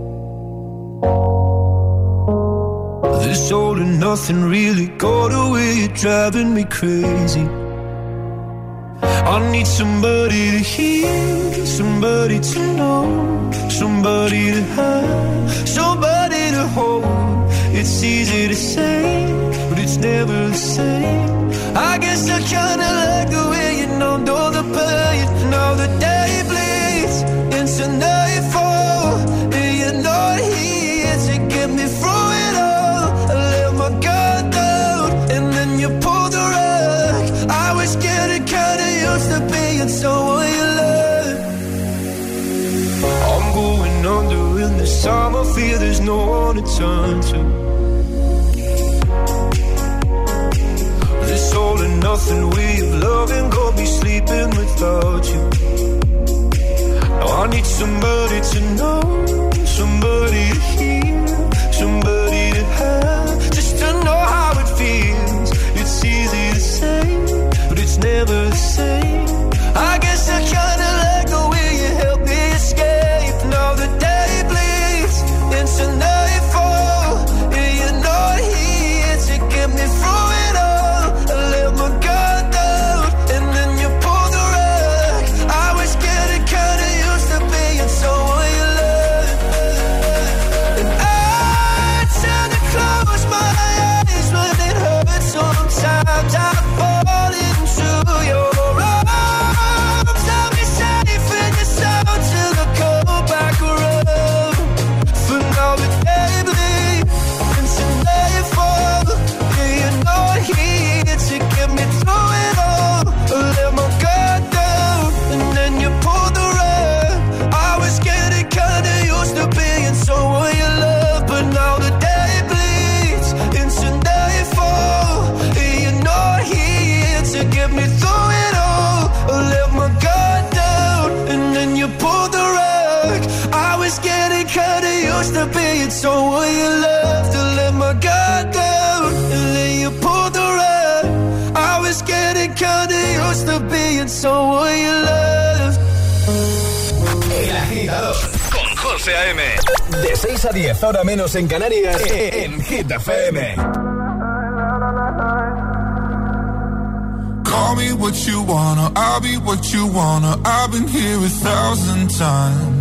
Speaker 12: This all and nothing really got away. You're driving me crazy. I need somebody to hear, somebody to know, somebody to have, somebody to hold. It's easy to say, but it's never the same. I guess I kinda like the way you know, know the pain. Now the day bleeds into nightfall, and you're not here to get me through it all. I let my guard down, and then you pulled the rug. I was getting kinda used to being someone you love. I'm going under in this time. I fear there's no one to turn to. This all and nothing way of loving got me sleeping without you. Now I need somebody to know, somebody to hear, somebody to have, just to know how it feels. It's easy to say, but it's never the same. I guess I kinda like the way you help me escape. Now the day bleeds into nightfall, and you're not here to get me through it all. I let my guard down, and then you pulled the rug. I was getting kinda used to being someone you love. And I tend to close my eyes when it hurts. Sometimes I fall into your arms. I'll be safe in your sound till I come back around. For now the day bleeds into nightfall, and you're not here to get me through it all. I let my guard down, and then you pulled the rug. I was getting kinda used to being someone you love, but now the day bleeds into nightfall, and you're not here to get me through it all. I let my guard down, and then you pulled the rug. I was getting kinda used to being someone you love. To let my guard down, and then you pulled the rug. I was getting kinda used to being someone you love.
Speaker 1: El Agitador con José A M. De seis a diez, hora menos en Canarias, en Hit F M.
Speaker 13: Call me what you wanna, I'll be what you wanna. I've been here a thousand times.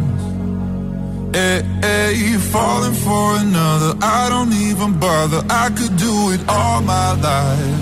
Speaker 13: Hey, hey, falling for another, I don't even bother. I could do it all my life.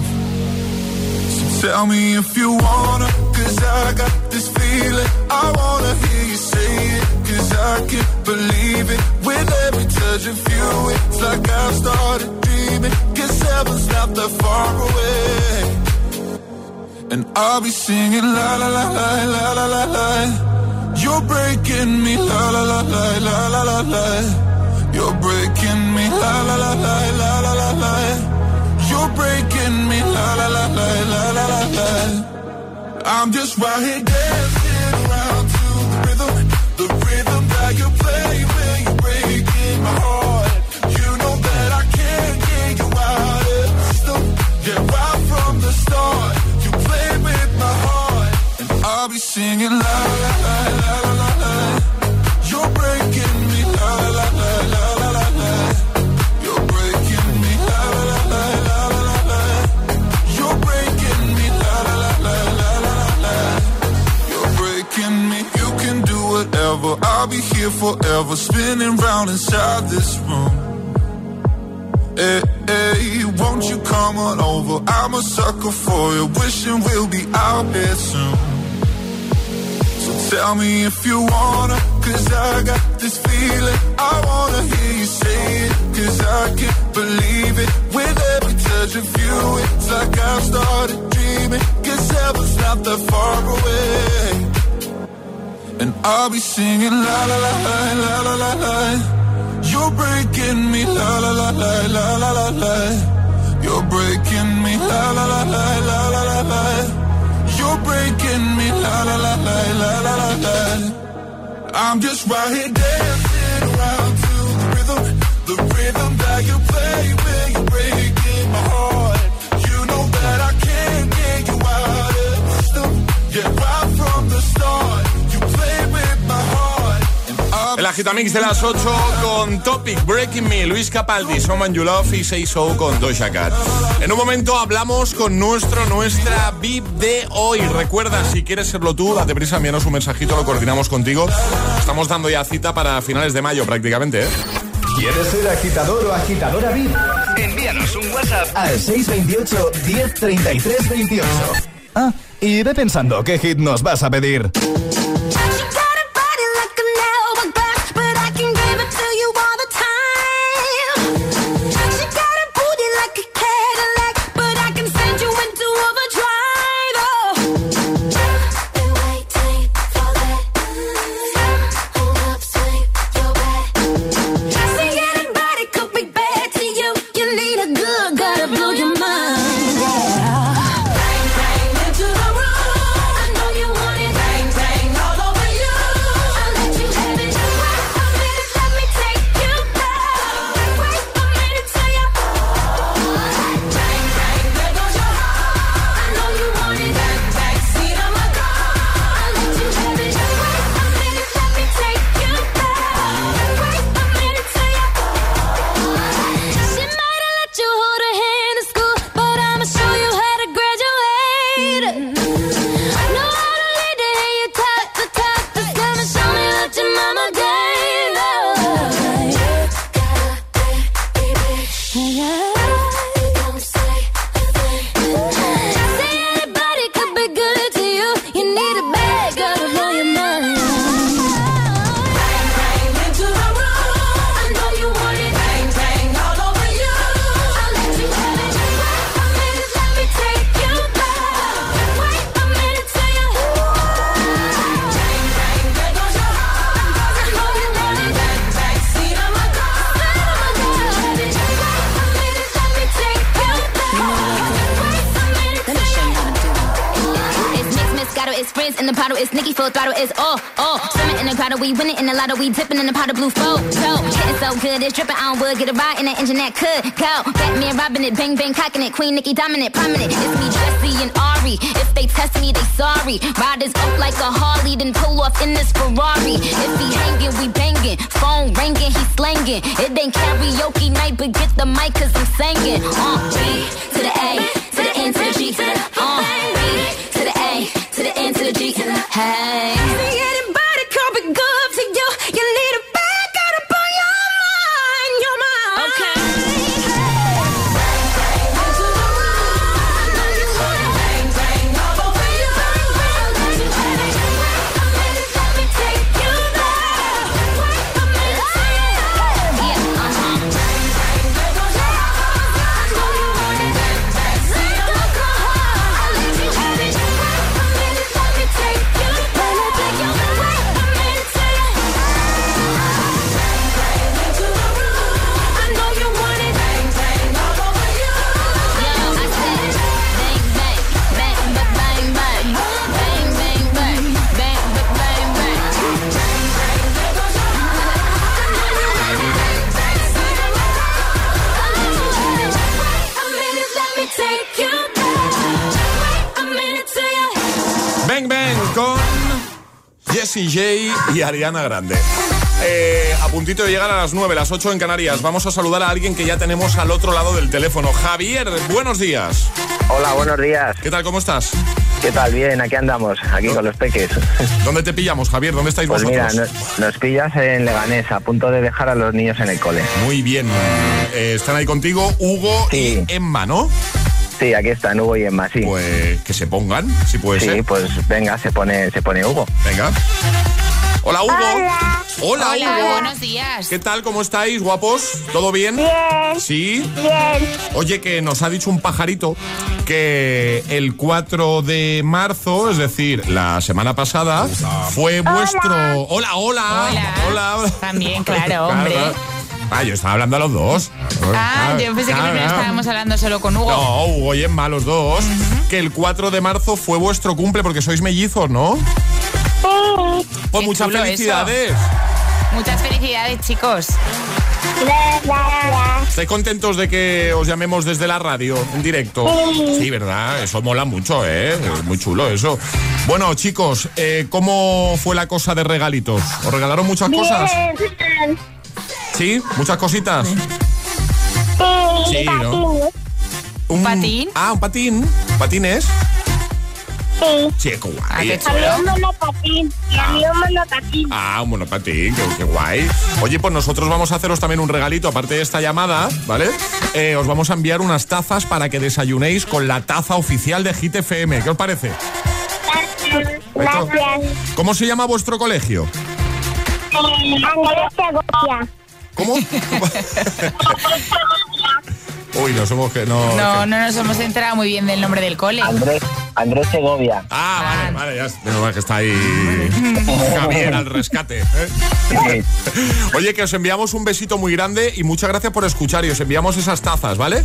Speaker 13: So tell me if you wanna, cause I got this feeling. I wanna hear you say it, cause I can't believe it. With every touch of you, it's like I've started dreaming. Cause heaven's not that far away. And I'll be singing la la la la la la la la. You're breaking me la la la la la la la la. You're breaking me la la la la la la la la. You're breaking me la la la la la la la la. I'm just right here dancing around to the rhythm, the rhythm that you play when you're breaking my heart. You know that I can't get you out of the system. Yeah, right from the start. With my heart, and I'll be singing la la la la la la la. You're breaking me la la la la la la la. You're breaking me la la la la la la la. You're breaking me la la la la la la la. You're breaking me. You can do whatever. I'll be here forever, spinning round inside this room. Hey, hey, won't you come on over? I'm a sucker for you, wishing we'll be out here soon. So tell me if you wanna, cause I got this feeling. I wanna hear you say it, cause I can't believe it. With every touch of you, it's like I've started dreaming. Cause heaven's not that far away. And I'll be singing la la la la la la la la. You're breaking me la la la la la la la la. You're breaking me la la la la la la la la. You're breaking me la la la la la la la la. I'm just right here dancing around to the rhythm, the rhythm that you play when you're breaking my heart. You know that I can't get you out of the system. Yeah, right from the start, you play with my heart.
Speaker 5: El Agitamix de las ocho con Topic, Breaking Me, Luis Capaldi, Someone You Love y Say So con Doja Cat. En un momento hablamos con nuestro, nuestra V I P de hoy. Recuerda, si quieres serlo tú, date prisa, envíanos un mensajito, lo coordinamos contigo. Estamos dando ya cita para finales de mayo prácticamente, ¿eh?
Speaker 1: ¿Quieres ser agitador o agitadora V I P? Envíanos un WhatsApp al seis dos ocho, diez, treinta y tres, veintiocho. Ah, y ve pensando qué hit nos vas a pedir.
Speaker 6: We winning in the lotto, we dipping in the pot of blue photo. Getting so good, it's dripping on wood. Get a ride in that engine that could go. Batman robbing it, bang bang cocking it. Queen Nicki dominant, prominent. It's me, Jesse and Ari. If they test me, they sorry. Riders up like a Harley, then pull off in this Ferrari. If he hanging, we banging. Phone ringing, he slanging. It ain't karaoke night, but get the mic 'cause I'm singing. Uh, B to the A, to the N to the G. Uh, B to the A, to the N to the G. Hey.
Speaker 5: Jessie J y Ariana Grande. Eh, a puntito de llegar a las nueve, las ocho en Canarias. Vamos a saludar a alguien que ya tenemos al otro lado del teléfono. Javier, buenos días.
Speaker 14: Hola, buenos días.
Speaker 5: ¿Qué tal, cómo estás?
Speaker 14: ¿Qué tal? Bien, aquí andamos, aquí ¿No? con los peques.
Speaker 5: ¿Dónde te pillamos, Javier? ¿Dónde estáis
Speaker 14: pues
Speaker 5: vosotros?
Speaker 14: Pues mira, nos, nos pillas en Leganés, a punto de dejar a los niños en el cole.
Speaker 5: Muy bien. Eh, están ahí contigo Hugo sí. y Emma, ¿no?
Speaker 14: Sí, aquí están Hugo y Emma, sí.
Speaker 5: Pues que se pongan, si puede
Speaker 14: sí,
Speaker 5: ser.
Speaker 14: Sí, pues venga, se pone, se pone Hugo.
Speaker 5: Venga. Hola, Hugo.
Speaker 7: Hola.
Speaker 5: Hola,
Speaker 7: Hola,
Speaker 5: Hugo.
Speaker 7: buenos días.
Speaker 5: ¿Qué tal? ¿Cómo estáis, guapos? ¿Todo bien?
Speaker 15: Bien.
Speaker 5: ¿Sí?
Speaker 15: Bien.
Speaker 5: Oye, que nos ha dicho un pajarito que el cuatro de marzo, es decir, la semana pasada, fue
Speaker 15: hola.
Speaker 5: vuestro... Hola, hola.
Speaker 7: Hola. Hola. También, claro, hombre. Claro.
Speaker 5: Ah, yo estaba hablando a los dos.
Speaker 7: Ah, yo pensé que primero estábamos hablando solo con Hugo.
Speaker 5: No, Hugo y Emma, los dos. Uh-huh. Que el cuatro de marzo fue vuestro cumple porque sois mellizos, ¿no?
Speaker 15: Sí.
Speaker 5: Pues muchas felicidades.
Speaker 7: Eso. Muchas felicidades, chicos.
Speaker 15: Gracias.
Speaker 5: ¿Estáis contentos de que os llamemos desde la radio en directo?
Speaker 15: Sí.
Speaker 5: Sí, ¿verdad? Eso mola mucho, ¿eh? Es muy chulo eso. Bueno, chicos, eh, ¿cómo fue la cosa de regalitos? ¿Os regalaron muchas
Speaker 15: Bien.
Speaker 5: cosas? ¿Sí? ¿Muchas cositas?
Speaker 15: Sí,
Speaker 5: sí, ¿no?
Speaker 7: ¿Un patín?
Speaker 5: Ah, un patín. ¿Patines?
Speaker 15: Sí.
Speaker 5: Sí, qué guay.
Speaker 15: A mí un monopatín. Y a mí un monopatín.
Speaker 5: Ah, un monopatín, qué, qué guay. Oye, pues nosotros vamos a haceros también un regalito, aparte de esta llamada, ¿vale? Eh, os vamos a enviar unas tazas para que desayunéis con la taza oficial de Hit F M. ¿Qué os parece?
Speaker 15: Gracias.
Speaker 5: ¿Cómo se llama vuestro colegio?
Speaker 15: Andrés Segovia.
Speaker 5: ¿Cómo? Uy, no somos que no...
Speaker 7: No, no nos hemos enterado muy bien del nombre del cole.
Speaker 14: Andrés, Andrés Segovia.
Speaker 5: Ah, vale, vale, ya menos mal que está ahí Javier al rescate, ¿eh? Oye, que os enviamos un besito muy grande y muchas gracias por escuchar y os enviamos esas tazas, ¿vale?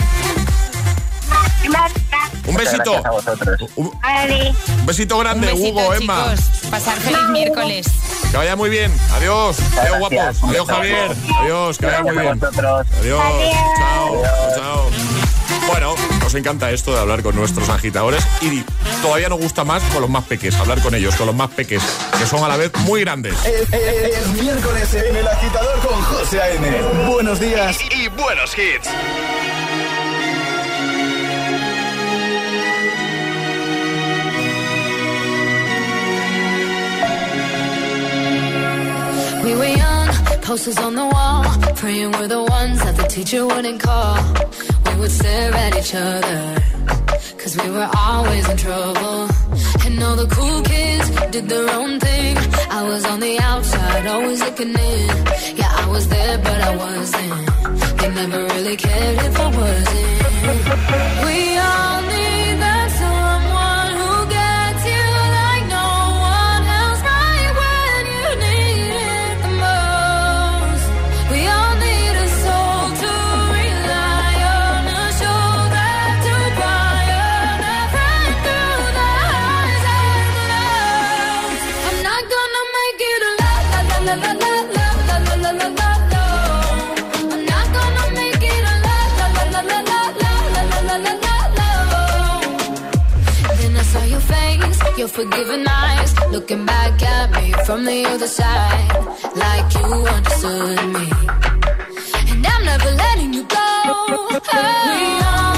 Speaker 5: Un besito. Un, un besito grande,
Speaker 7: un besito,
Speaker 5: Hugo, Emma.
Speaker 7: Chicos, pasar feliz miércoles.
Speaker 5: Que vaya muy bien. Adiós. Adiós, guapos. Adiós, Javier. Adiós, que vaya muy bien. Adiós. Chao. Chao. Bueno, nos encanta esto de hablar con nuestros agitadores y todavía nos gusta más con los más peques, hablar con ellos, con los más peques, que son a la vez muy grandes.
Speaker 1: Es, es, es miércoles en El Agitador con José A M. Buenos días y, y buenos hits.
Speaker 16: We were young, posters on the wall, praying we're the ones that the teacher wouldn't call. We would stare at each other, cause we were always in trouble. And all the cool kids did their own thing. I was on the outside, always looking in. Yeah, I was there, but I wasn't. They never really cared if I wasn't. We all need that someone who gets you like no one else, right when you need it the most. We all need a soul to rely on, a shoulder to cry on, a friend through the highs and lows. I'm not gonna make it a la la la la la la la la la la la. I'm not gonna make it a la la la la la la la la la la. Then I saw your face, your forgiving eyes, looking back at me from the other side, like you understood me. And I'm never letting you go. Hey. We are